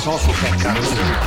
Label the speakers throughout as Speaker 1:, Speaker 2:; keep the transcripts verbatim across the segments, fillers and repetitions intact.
Speaker 1: reconnaissance au frère Carlos.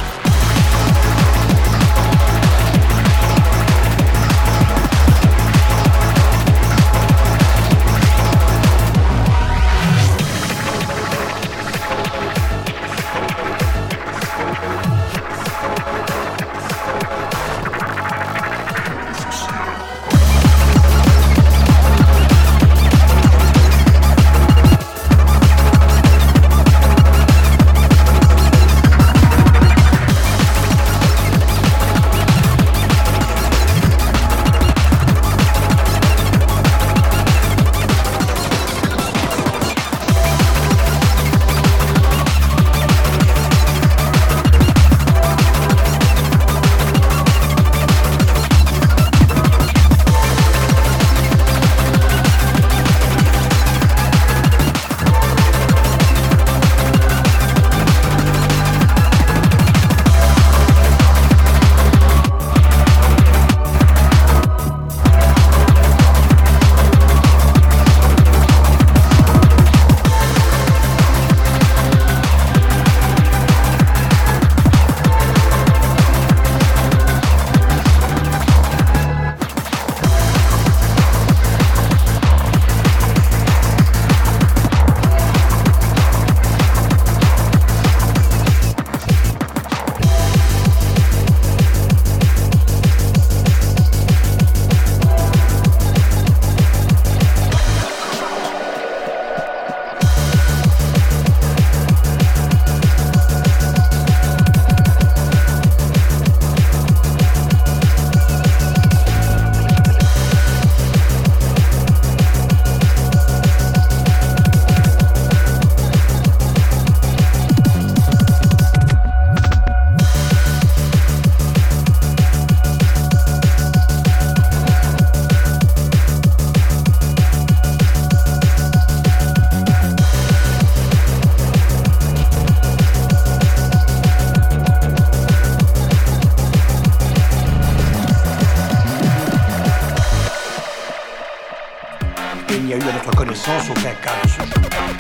Speaker 1: Il n'y a eu à notre connaissance aucun cas de ce genre.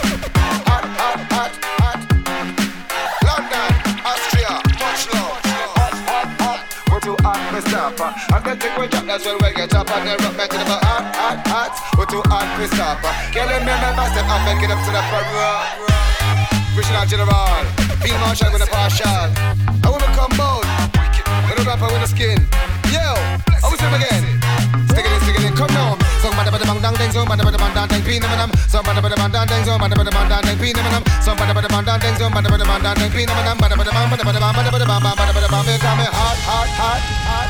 Speaker 2: Hot, hot, hot, hot. London, Austria, much love. Hot, hot, hot. We're too hot for stop. And the thing we drop, that's when we get up and then rock back to the bar. Hot, hot, hot. We're too hot for stop. Killing me, my step up and get up to the front. Regional General, Field Marshal with a partial. I wanna come bold. With a rapper with a skin. Yo, I will say them again. Stick it in, stick it in, come now. Somebody but the bang dang dang, somebody but the bang dang dang, pin them and them. Somebody but the bang dang dang, somebody but the bang dang dang, pin them and them. Somebody but the bang dang dang, somebody but the bang dang dang, pin them and them. Somebody but the bang, but the bang, but the bang, but the bang, but the bang, they call me hot, hot, hot, hot.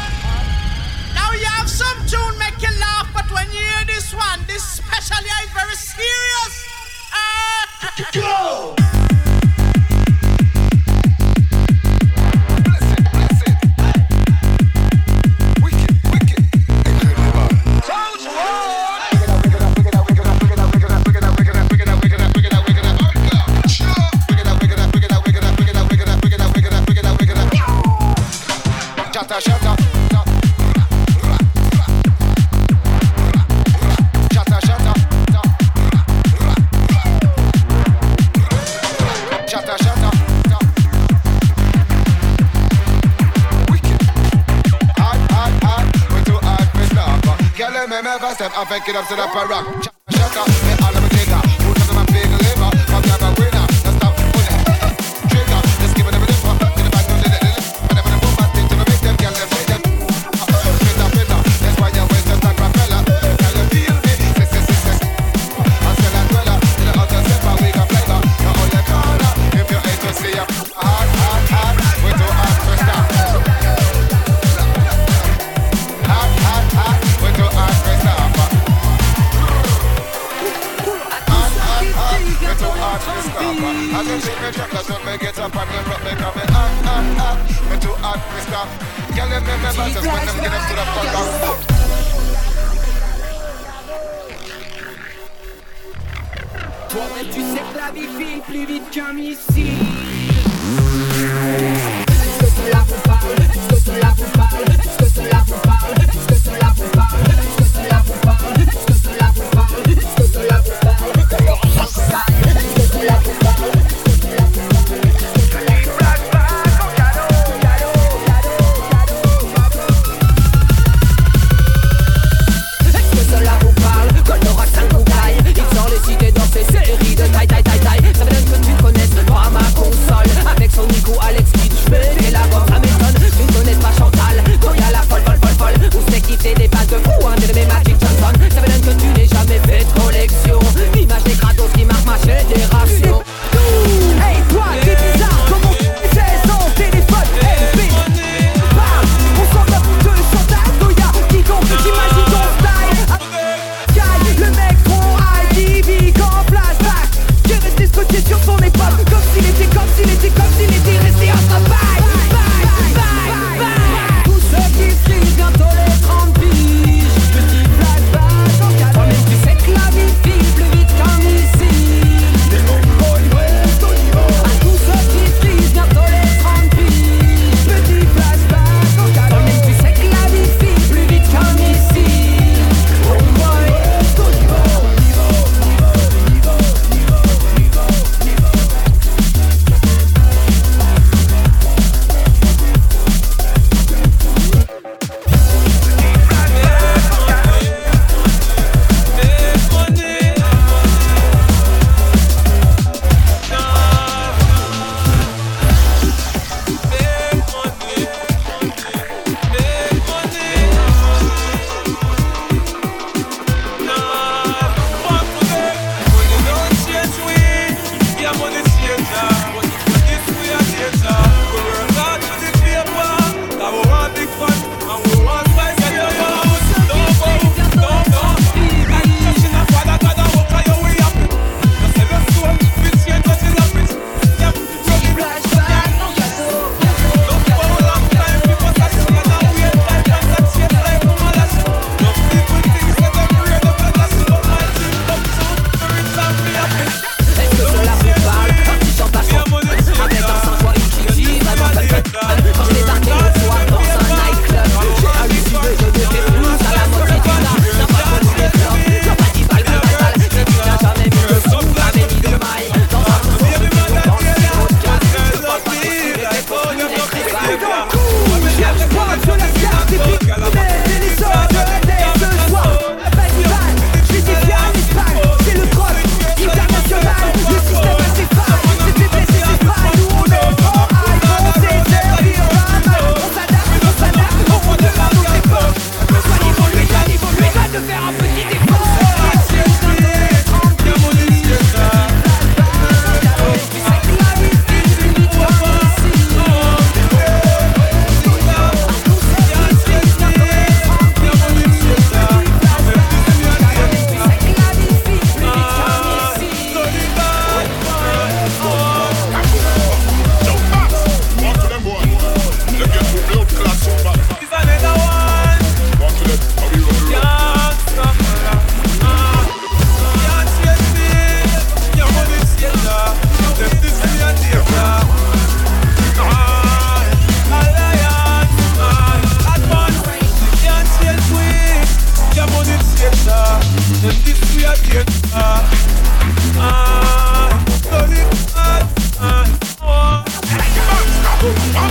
Speaker 3: Now you have some tune make you laugh, but when you hear this one, this specially is very serious. Ah, go.
Speaker 2: Shatter, shatter, shatter, shatter, shatter, shatter. Wicked, hard, hard, hard. We're too hard for stop. Girl, let me never step up and get up to the rock. Shatter, me all of me trigger. Who doesn't want big liver? Come never winner. Let's stop pulling trigger. Let's give it a bit of fun. Get it back to the little.
Speaker 4: Toi-même tu sais que la vie file plus vite qu'un missile. Est-ce que cela vous parle? Est-ce que cela vous parle? Est-ce que cela vous parle? Est-ce que cela vous parle? Est-ce que cela vous parle? Est-ce que cela vous parle? Est-ce que cela vous parle? Est-ce que cela vous parle? Est-ce que cela vous parle?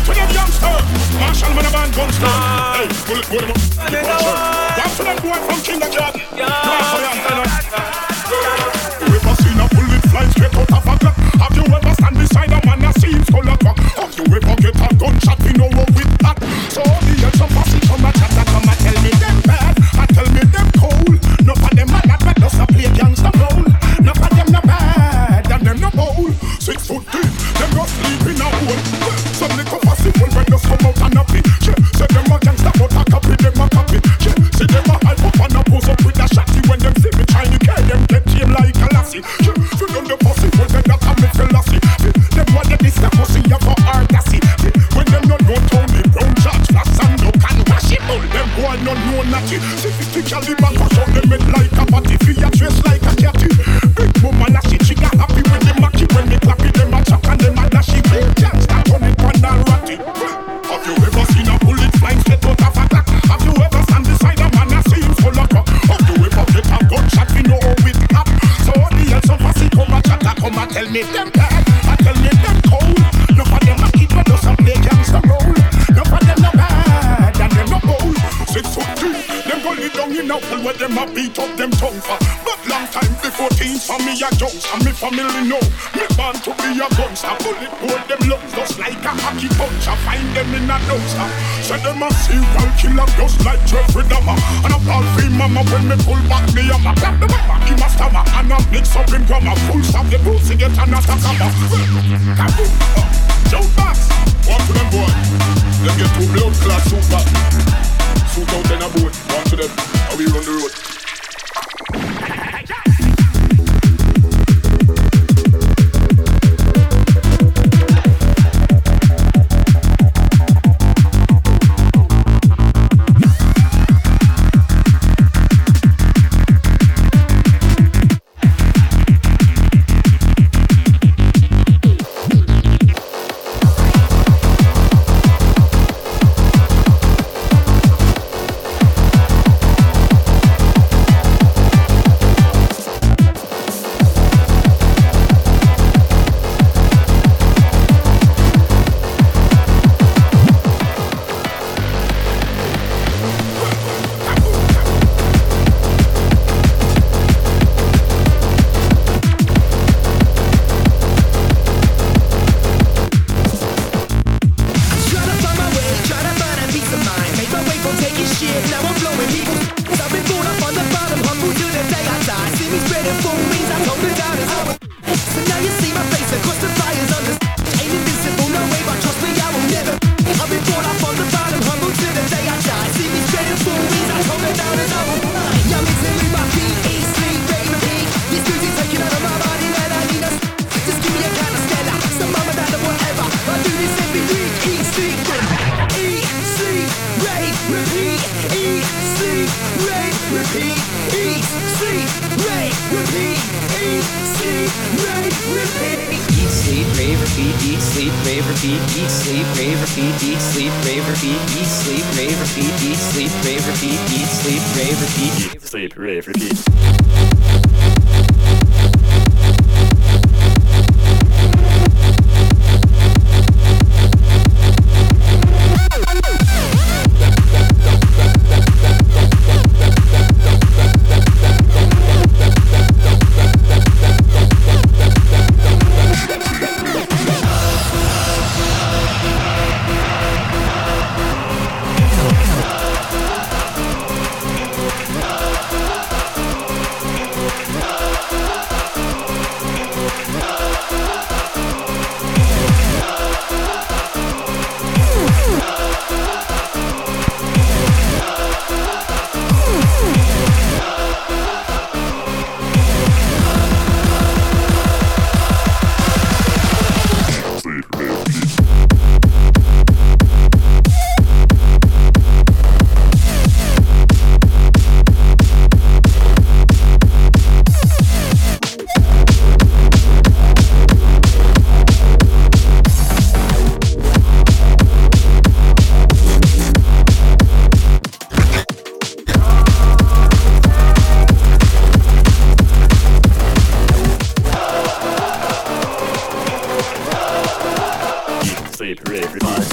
Speaker 5: Back to them youngster. Marshall man a band gunster. Hey, pull it, pull it up. Back to them boy from kindergarten. You ever seen a bullet fly straight out of a clock? Have you ever stand beside a man that seems full of clock? Have you ever get a gunshot in over with that? So the hell some posse come a chat and come a tell me them bad and tell me them cool. No for them man that does a play gangster role. No for them no bad and them no bowl. Six foot deep, them no sleep in a hole. Some little posse will when just come out and a play. Say them a gangster but a copy them a copy. See them a hype up and a pose up with a shotty. When them see me trying to carry them get him like a lassie. You know the posse will get that a me philosophy. Them want the this the pussy of a artasy. When them not know Tony Brown, George Flash and no can wash it. Them boy not know natty. See fifty caliber push out them head like a body. Feel your dress like a catty. Big mama lassie, she got happy when they macky. When they clap it, them a chuck and them a dashy. Big chance that turn it on a ratty. Have you ever seen a bullet flying straight out of a clock? Have you ever stand beside a man that seems full of cock? Have you ever get a gunshot we know with that? So the hell some fussy come a chat and come a tell me them bad and tell me them cold. No for them a kid but does a play gangster role. No for them no bad and them no bold. Six foot two, them go lay down in a hole where them a beat up them tongue for. But long time before teens for me a jokes and me family know me born to be a gunster. Bullet hole them lungs just like a hockey punch. I find them in a dumpster. Say them a serial killer just like Jeffrey Dahmer. And a ball free mama when me pull back me up. I clap the mama in my stomach and I mix up in grammar. Full stop the pussy get and a sakaba. Kaboom, jump box. One to them boy. Them get two blood clad suit back. Suit out in a boat. One to them. How we run the road.
Speaker 6: rave, rave, rave.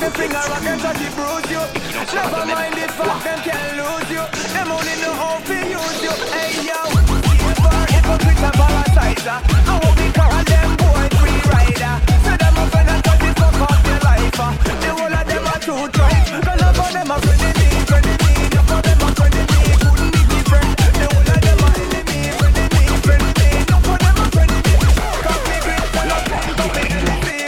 Speaker 6: them finger rock and try to bruise you. Never mind the fact them can't lose you. Them only know how to use you. Hey yo, ever hypocrite and parasiter. I won't be call them boy free rider. So them up and try to fuck up their life. The whole of them are too dry. Cause none of them are friendly, friendly. None of them are friendly, couldn't be different. The whole of them are enemy, friendly, friendly. None of them are friendly. Cause me great, none of them are friendly.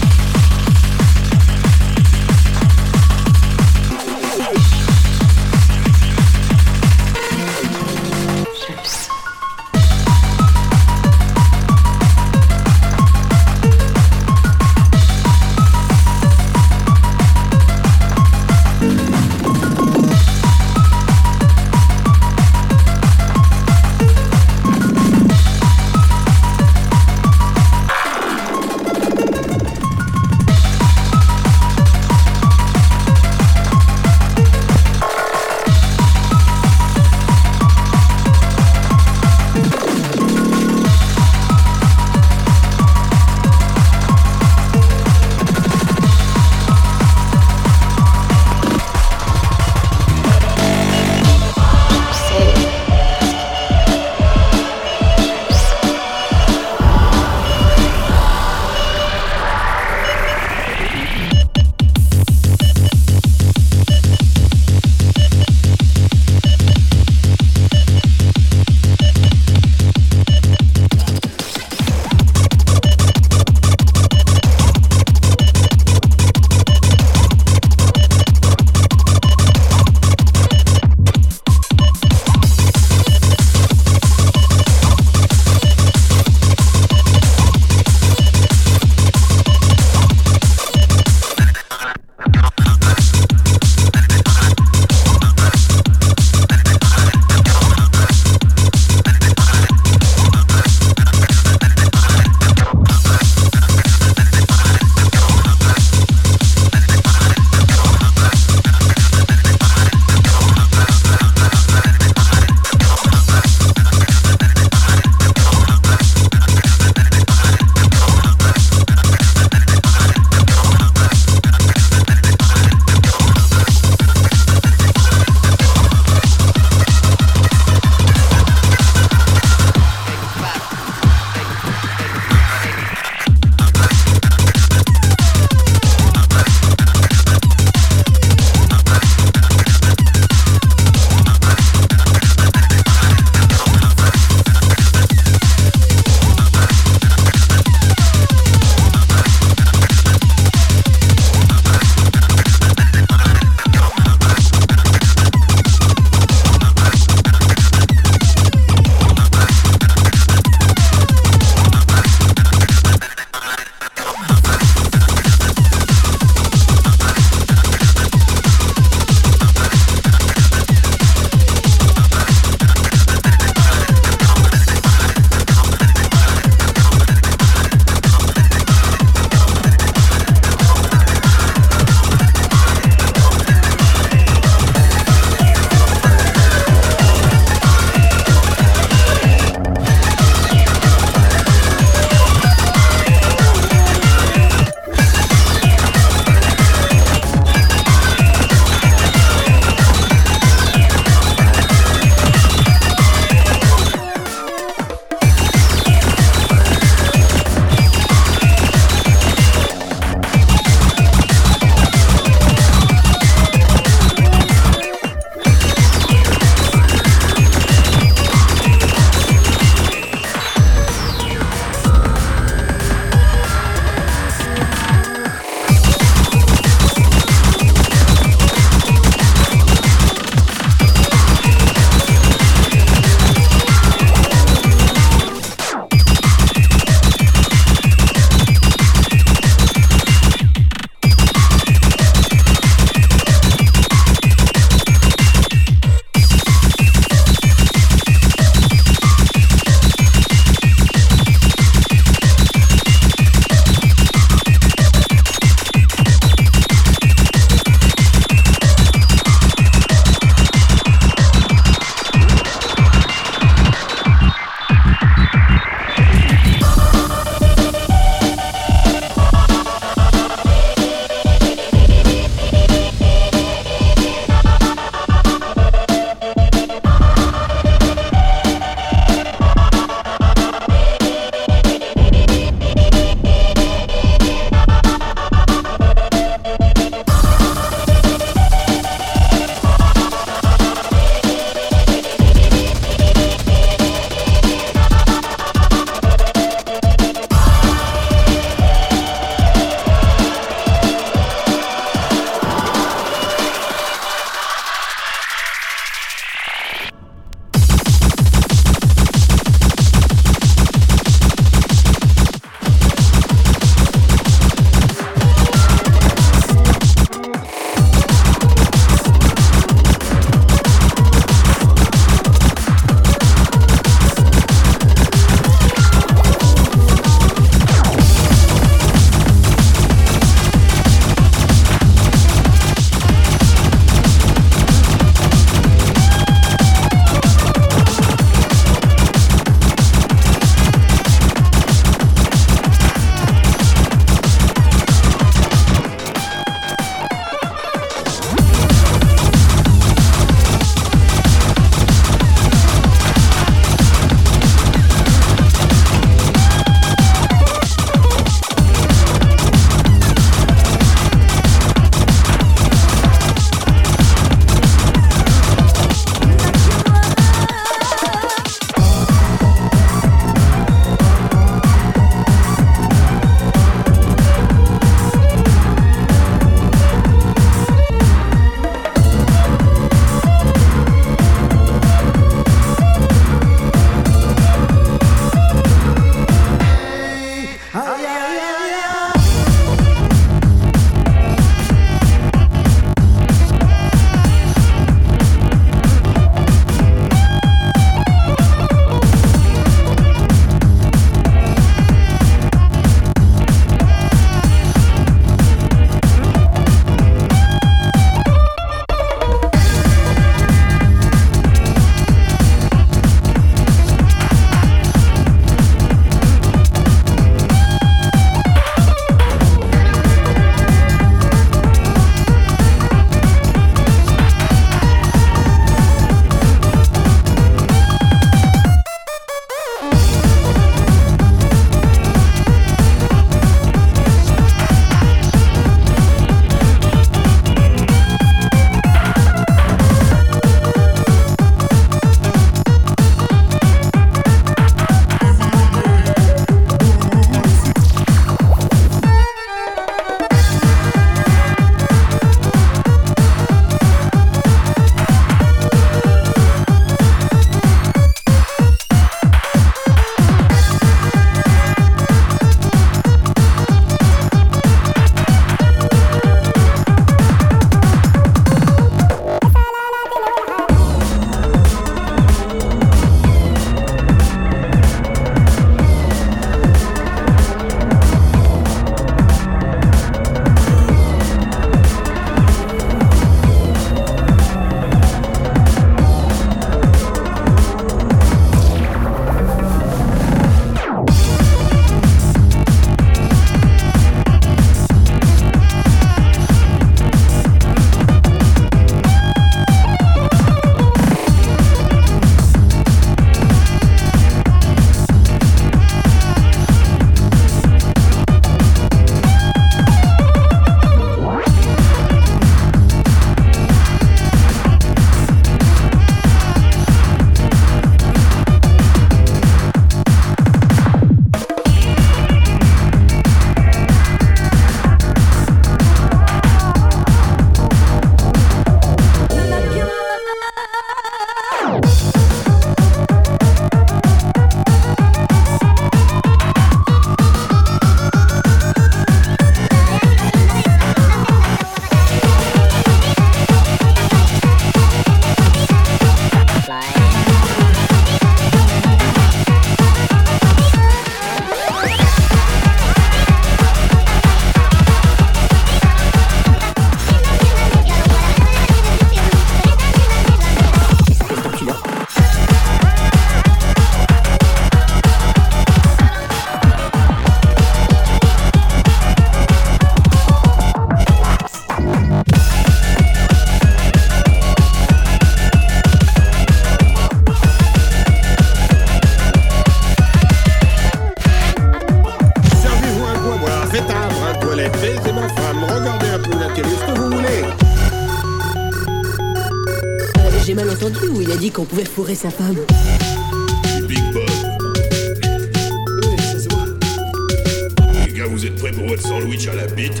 Speaker 7: pouvait fourrer sa femme.
Speaker 5: Du Big Bob.
Speaker 8: Oui, ça se voit.
Speaker 5: Les gars, vous êtes prêts pour votre sandwich à la bite?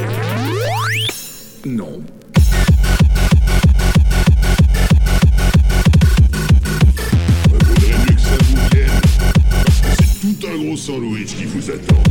Speaker 8: Non.
Speaker 5: Faudrait mieux que ça vous vienne. Parce que c'est tout un gros sandwich qui vous attend.